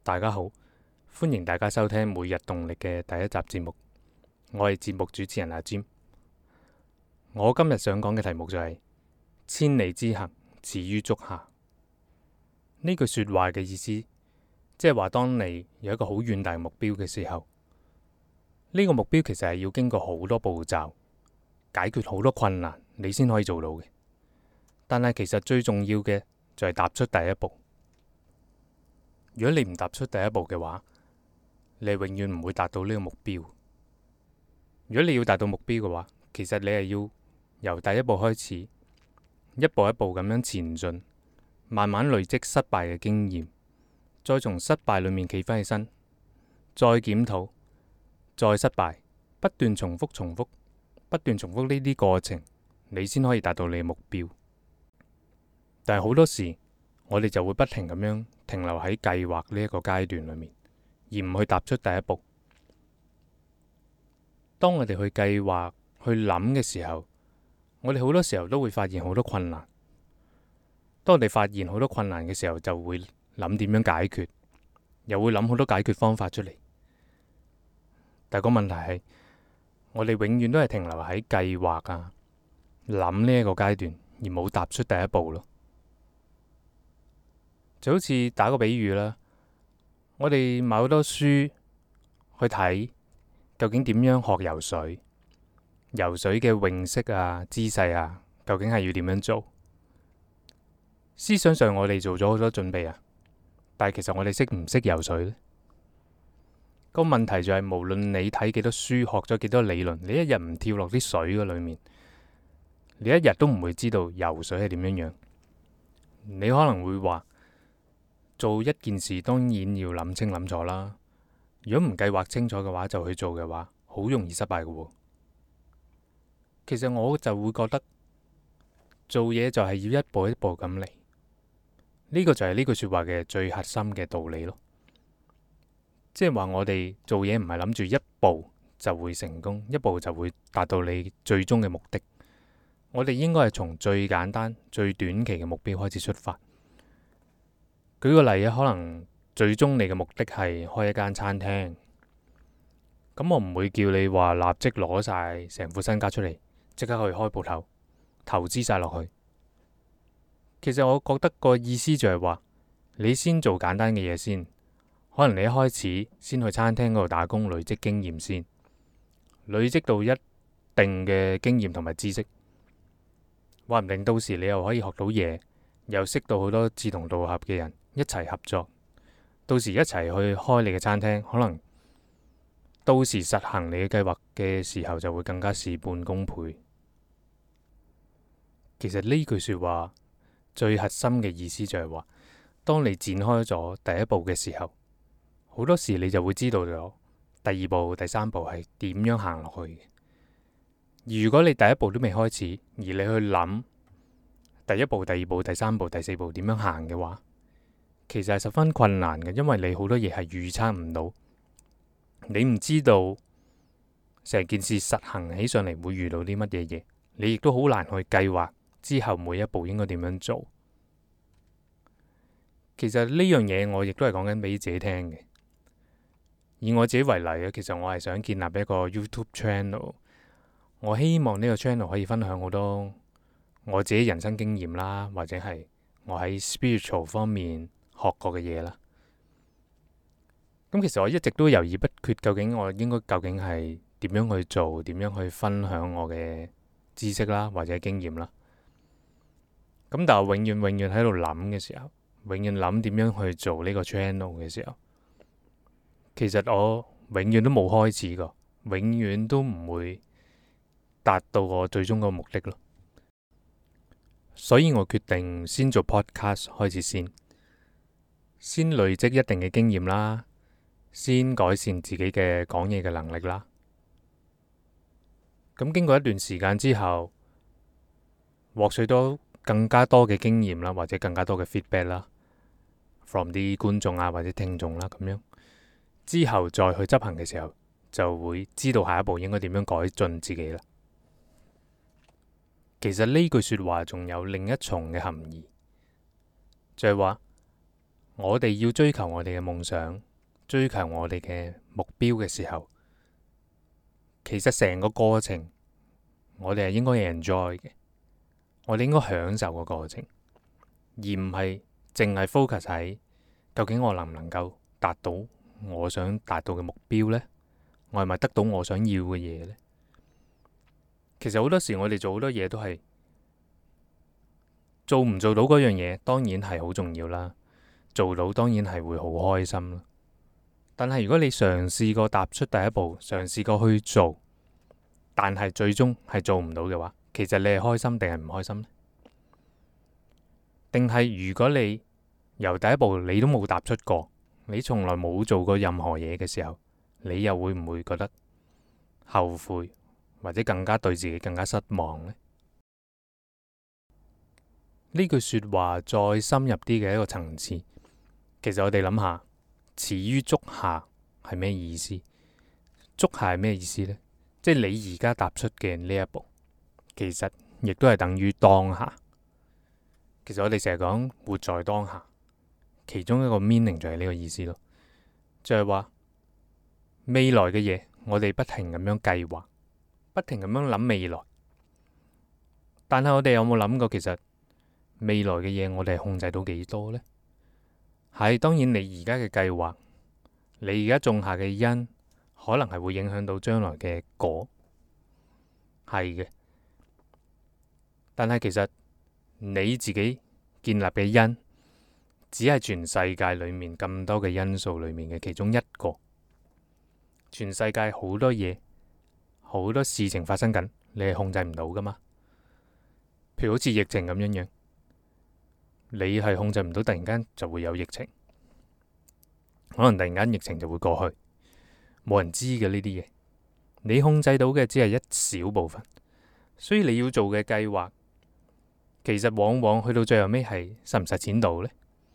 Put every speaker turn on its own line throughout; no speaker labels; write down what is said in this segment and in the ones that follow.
大家好，歡迎大家收聽每日動力嘅第一集節目。我係節目主持人阿占。我今日想講嘅題目就係千里之行，始於足下。呢句說話嘅意思，即係話當你有一個好遠大目標嘅時候，呢個目標其實係要經過好多步驟，解決好多困難，你先可以做到嘅。但係其實最重要嘅就係踏出第一步。如果你唔踏出第一步嘅話，你永遠唔會達到呢個目標。如果你要達到目標嘅話，其實你係要由第一步開始，一步一步咁樣前進，慢慢累積失敗嘅經驗，再從失敗裏面企翻起身，再檢討，再失敗，不斷重複，不斷重複呢啲過程，你先可以達到你嘅目標。但係好多時，我哋就會不停咁樣停留喺計劃呢一個階段裏面，而唔去踏出第一步。當我哋去計劃、去諗嘅時候，我哋好多時候都會發現好多困難。當我哋發現好多困難嘅時候，就會諗點樣解決，又會諗好多解決方法出嚟。但係個問題係，我哋永遠都係停留喺計劃啊、諗呢一個階段，而冇踏出第一步咯。就好似打個比喻啦，我哋買好多書去睇，究竟點樣學游水？游水嘅泳式啊、姿勢啊，究竟係要點樣做？思想上我哋做咗好多準備啊，但係其實我哋識唔識游水呢？個問題就係，無論你睇幾多書，學咗幾多理論，你一日唔跳落啲水嘅裏面，你一日都唔會知道游水係點樣樣。你可能會話，做一件事當然要諗清諗楚啦。如果唔計劃清楚嘅話，就去做嘅話，好容易失敗嘅喎。其實我就會覺得做嘢就係要一步一步咁嚟，呢個就係呢句說話嘅最核心嘅道理咯。即係話我哋做嘢唔係諗住一步就會成功，一步就會達到你最終嘅目的。我哋應該係從最簡單、最短期嘅目標開始出發。舉個例啊，可能最終你嘅目的係開一間餐廳，咁我唔會叫你話立即攞晒成副身家出嚟，即刻去開鋪頭，投資晒落去。其實我覺得個意思就係話，你先做簡單嘅嘢先，可能你一開始先去餐廳嗰度打工，累積經驗先，累積到一定嘅經驗同埋知識，話唔定到時你又可以學到嘢，又識到好多志同道合嘅人。一齊合作，到時一齊去開你嘅餐廳，可能到時實行你嘅計劃嘅時候，就會更加事半功倍。其實呢句說話最核心嘅意思就係話，當你展開咗第一步嘅時候，好多時你就會知道咗第二步、第三步係點樣行落去嘅。而如果你第一步都未開始，而你去諗第一步、第二步、第三步、第四步點樣行嘅話，其實係十分困難嘅，因為你好多嘢係預測唔到，你唔知道成件事實行起上嚟會遇到啲乜嘢嘢，你亦都好難去計劃之後每一步應該點樣做。其實呢樣嘢我亦都係講緊俾自己聽嘅。以我自己為例啊，其實我係想建立一個 YouTube channel，我希望呢個 channel 可以分享好多我自己人生經驗啦，或者係我喺 spiritual 方面學過嘅嘢啦。咁其實我一直都猶豫不決，究竟係點樣去做，點樣去分享我嘅知識啦，或者經驗啦。咁但係我永遠喺度諗嘅時候，永遠諗點樣去做呢個 channel 嘅時候，其實我永遠都冇開始過，永遠都唔會達到我最終個目的咯。所以我決定先做 podcast 開始先累積一定嘅經驗啦，先改善自己嘅講嘢嘅能力啦。咁經過一段時間之後，獲取到更加多嘅經驗啦，或者更加多嘅 feedback 啦，from 啲觀眾啊或者聽眾啦，咁樣之後再去執行嘅時候，就會知道下一步應該點樣改進自己啦。其實呢句說話仲有另一重嘅含義，就係話我哋要追求我哋嘅夢想，追求我哋嘅目標嘅時候，其實成個過程我哋係應該 enjoy 嘅，我哋應該享受個過程，而唔係淨係 focus 喺究竟我能唔能夠達到我想達到嘅目標呢？我係咪得到我想要嘅嘢呢？其實好多時我哋做好多嘢都係做唔做到嗰樣嘢，當然係好重要啦。做到當然係會好開心啦。但係如果你嘗試過踏出第一步，嘗試過去做，但係最終係做唔到嘅話，其實你係開心定係唔開心呢？定係如果你由第一步你都冇踏出過，你從來冇做過任何嘢嘅時候，你又會唔會覺得後悔，或者更加對自己更加失望呢？呢句說話再深入啲嘅一個層次，其實我哋諗下，始於足下係咩意思？足下係咩意思呢？即係你而家踏出嘅呢一步，其實亦都係等於當下。其實我哋成日講活在當下，其中一個 meaning 就係呢個意思咯，就係話未來嘅嘢，我哋不停咁樣計劃，不停咁樣諗未來，但係我哋有冇諗過，其實未來嘅嘢我哋係控制到幾多呢？係，當然你而家嘅計劃，你而家種下嘅因，可能係會影響到將來嘅果，係嘅。但係其實你自己建立嘅因，只係全世界裏面咁多嘅因素裏面嘅其中一個。全世界好多嘢，好多事情發生緊，你係控制唔到噶嘛？譬如好似疫情咁樣樣，你係控制唔到，突然間就會有疫情，可能突然間疫情就會過去，冇人知嘅呢啲嘢。你控制到嘅只係一小部分，所以你要做嘅計劃，其實往往去到最後尾係實唔實踐到呢？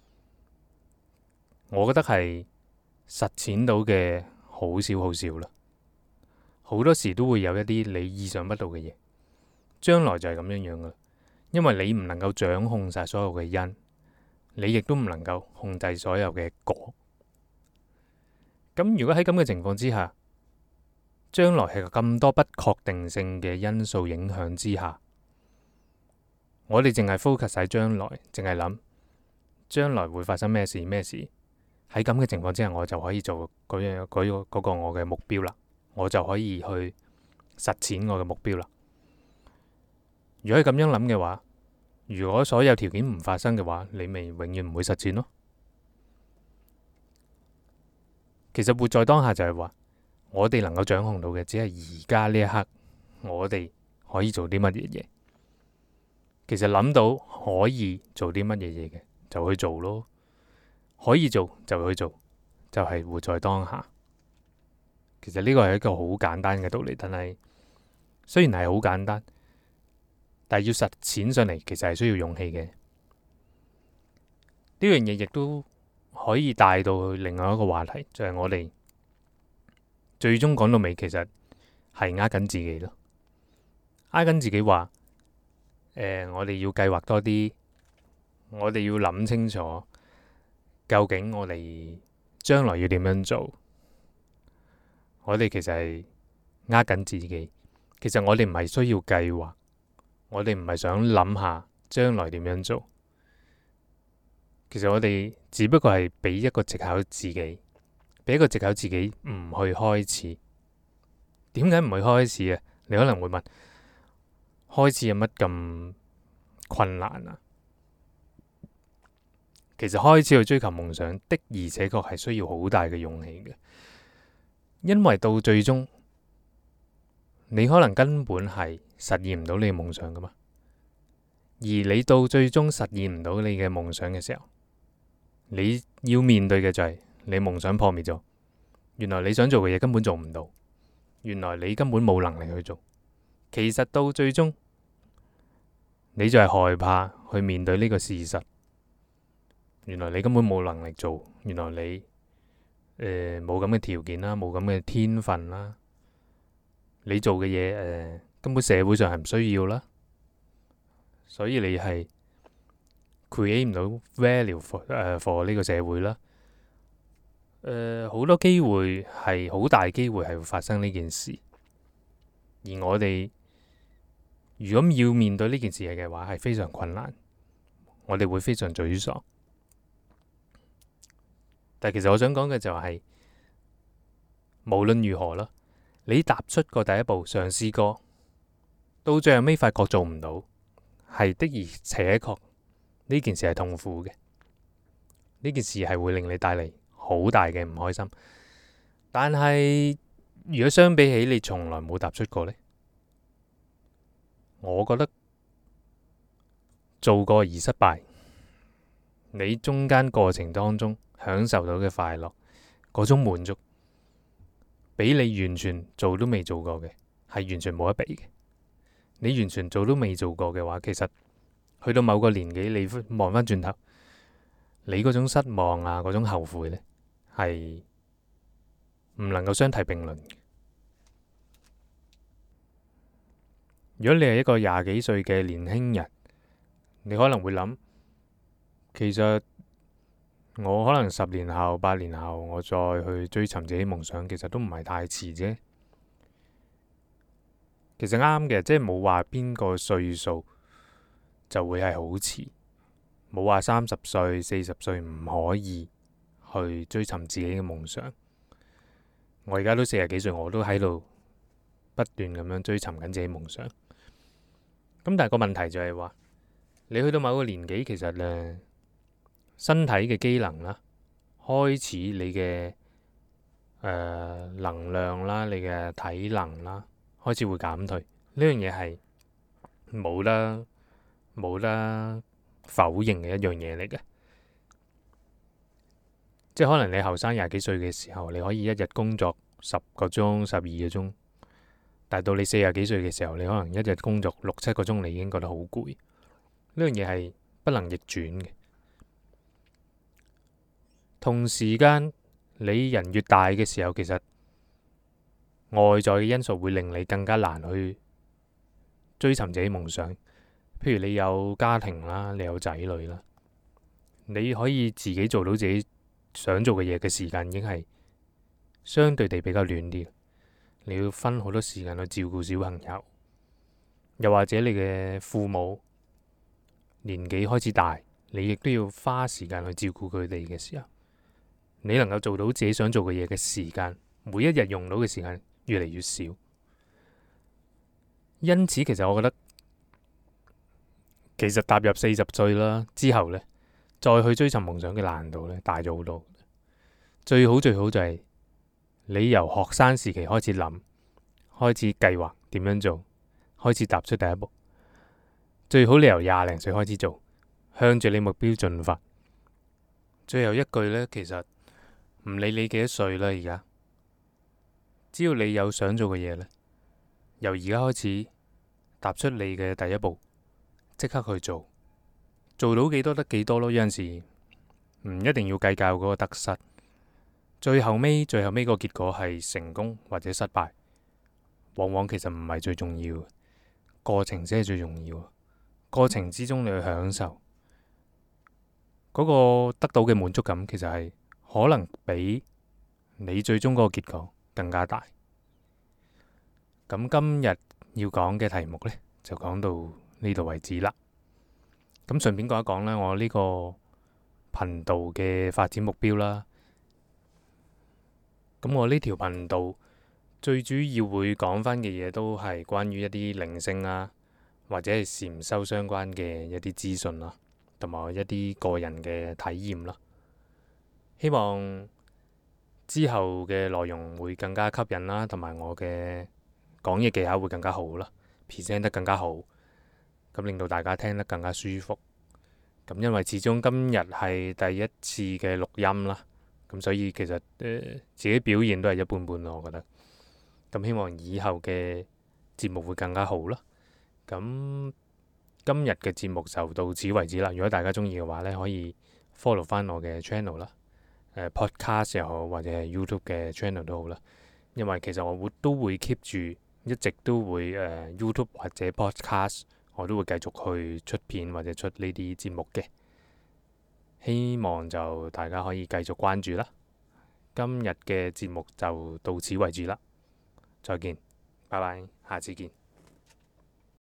我覺得係實踐到嘅好少好少啦。好多時都會有一啲你意想不到嘅嘢，將來就係咁樣樣噶啦。因為你唔能夠掌控晒所有嘅因，你亦都唔能夠控制所有嘅果。咁如果喺咁嘅情況之下，將來係咁多不確定性嘅因素影響之下，我哋淨係 focus 喺將來，淨係諗將來會發生咩事咩事。喺咁嘅情況之下，我就可以做嗰個我嘅目標啦，我就可以去實踐我嘅目標啦。如果係咁樣諗嘅話，如果所有條件唔發生嘅話，你咪永遠唔會實踐咯。其實活在當下就係話，我哋能夠掌控到嘅，只係而家呢一刻，我哋可以做啲乜嘢嘢。其實諗到可以做啲乜嘢嘢嘅，就去做咯。可以做就去做，就係活在當下。其實呢個係一個好簡單嘅道理，但係雖然係好簡單，但係要實踐上嚟，其實係需要勇氣嘅。呢樣嘢亦都可以帶到去另外一個話題，就係我哋最終講到尾，其實係呃緊自己咯。呃緊自己話，我哋要計劃多啲，我哋要諗清楚，究竟我哋將來要點樣做？我哋其實係呃緊自己。其實我哋唔係需要計劃，我哋唔係想諗下將來點樣做。其實我哋只不過係俾一個藉口自己，俾一個藉口自己唔去開始。點解唔去開始啊？你可能會問，開始有乜咁困難啊？其實開始去追求夢想的，而且確係需要好大嘅勇氣嘅，因為到最終你可能根本係實現唔到你嘅夢想噶嘛。而你到最終實現唔到你嘅夢想嘅時候，你要面對嘅就係你夢想破滅咗。原來你想做嘅嘢根本做唔到，原來你根本冇能力去做。其實到最終，你就係害怕去面對呢個事實。原來你根本冇能力做，原來你冇咁嘅條件啦，冇咁嘅天分啦。你做嘅嘢根本社會上係唔需要啦，所以你係 create 唔到 value for 呢個社會啦。好多機會係好大機會係會發生呢件事，而我哋如果要面對呢件事嘅話，係非常困難，我哋會非常沮喪。但其實我想講嘅就係，無論如何啦，你踏出過第一步，嘗試過，到最後尾發覺做唔到，係的而且確呢件事係痛苦嘅，呢件事係會令你帶嚟好大嘅唔開心。但係如果相比起你從來冇踏出過呢，我覺得做過而失敗，你中間過程當中享受到嘅快樂，嗰種滿足，比你完全做都未做過嘅係完全冇得比嘅。你完全做都未做過嘅話，其實去到某個年紀，你望翻轉頭，你嗰種失望啊，嗰種後悔呢，係唔能夠相提並論嘅。如果你係一個廿幾歲嘅年輕人，你可能會諗，其實我可能10年後、8年後，我再去追尋自己夢想，其實都唔係太遲啫。其實啱嘅，即係冇話邊個歲數就會係好遲，冇話30歲、40歲唔可以去追尋自己嘅夢想。我而家都40幾歲，我都喺度不斷咁樣追尋緊自己夢想。咁但係個問題就係話，你去到某個年紀，其實身體嘅機能啦，開始你嘅能量啦，你嘅體能啦，開始會減退。呢樣嘢係冇得否認嘅一樣嘢嚟嘅。即係可能你後生廿幾歲嘅時候，你可以一日工作10個鐘、12個鐘。但到你40幾歲嘅時候，你可能一日工作6、7個鐘，你已經覺得好攰。呢樣嘢係不能逆轉嘅。同時間，你人越大嘅時候，其實外在嘅因素會令你更加難去追尋自己夢想。譬如你有家庭啦，你有仔女啦，你可以自己做到自己想做嘅嘢嘅時間，已經係相對地比較短啲。你要分好多時間去照顧小朋友，又或者你嘅父母年紀開始大，你亦都要花時間去照顧佢哋嘅時候，你能夠做到自己想做嘅嘢嘅時間，每一日用到嘅時間越嚟越少。因此，其實我覺得，其實踏入40歲啦之後呢，再去追尋夢想嘅難度呢，大咗好多。最好就係你由學生時期開始諗，開始計劃點樣做，開始踏出第一步。最好你由20零歲開始做，向住你目標進發。最後一句呢，其實唔理你幾多歲啦，而家只要你有想做嘅嘢呢，由而家開始踏出你嘅第一步，即刻去做，做到幾多得幾多咯。有陣時唔一定要計較嗰個得失。最後尾個結果係成功或者失敗，往往其實唔係最重要，過程先係最重要。過程之中你去享受嗰個得到嘅滿足感，其實係可能比你最終嗰個結果更加大。咁今日要講嘅題目呢，就講到呢度為止啦。咁順便講一講呢，我呢個頻道嘅發展目標啦。咁我呢條頻道最主要會講翻嘅嘢都係關於一啲靈性啊，或者係禪修相關嘅一啲資訊啦，同埋一啲個人嘅體驗啦。希望之後嘅內容會更加吸引啦，同埋我嘅講嘢技巧會更加好啦，present 得更加好，咁令到大家聽得更加舒服。咁因為始終今日係第一次嘅錄音啦。咁所以其實自己表現都係一般般咯，我覺得。咁希望以後嘅節目會更加好啦。咁今日嘅節目就到此為止啦。如果大家中意嘅話呢，可以 follow 翻我嘅 channel 啦，podcast 又好，或者係 YouTube 嘅 channel 都好啦。因為其實我都會 keep 住，一直都會YouTube 或者 podcast，我都會繼續去出片或者出呢啲節目嘅。 希望就大家可以繼續關注啦。今日嘅節目就到此為止啦，再見，拜拜，下次見。